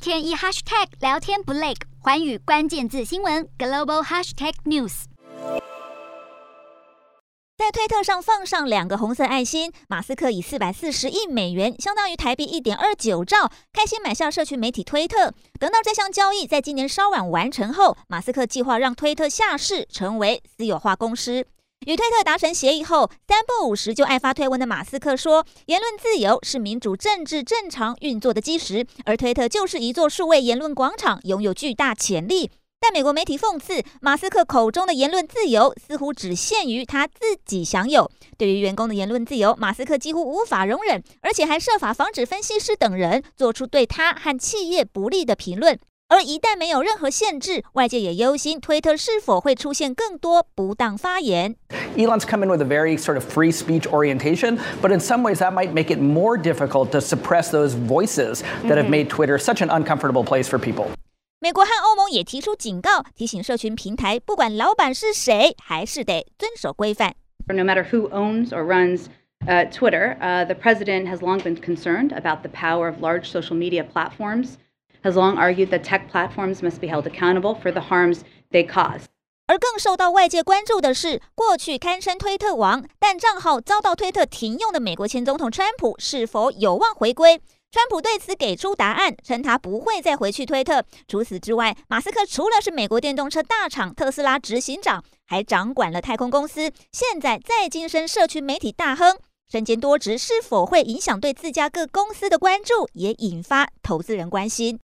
天一 hashtag 聊天不累，寰宇關鍵字新聞 Global Hashtag News。 在推特上放上2個紅色愛心，馬斯克以440億美元，相當於台幣1.29兆，開心買下社群媒體推特。等到這項交易在今年稍晚完成後，馬斯克計劃讓推特下市，成為私有化公司。與推特達成協議後，三不五時就愛發推文的馬斯克說，言論自由是民主政治正常運作的基石，而推特就是一座數位言論廣場，擁有巨大潛力。但美國媒體諷刺，馬斯克口中的言論自由似乎只限於他自己享有。對於員工的言論自由，馬斯克幾乎無法容忍，而且還設法防止分析師等人做出對他和企業不利的評論。而一旦沒有任何限制，外界也憂心推特是否會出現更多不當發言。 Elon's come in with a very sort of free speech orientation, but in some ways that might make it more difficult to suppress those voices that have made Twitter such an uncomfortable place for people. 美國和歐盟也提出警告，提醒社群平台，不管老闆是誰，還是得遵守規範。 No matter who owns or runs Twitter, the president has long been concerned about the power of large social media platforms, has long argued that tech platforms must be held accountable for the harms they cause. 而更受到外界關注的是，過去堪稱推特王，但賬號遭到推特停用的美國前總統川普是否有望回歸？川普對此給出答案，稱他不會再回去推特。除此之外，馬斯克除了是美國電動車大廠特斯拉執行長，還掌管了太空公司，現在再晉升社群媒體大亨，身兼多職是否會影響對自家各公司的關注，也引發投資人關心。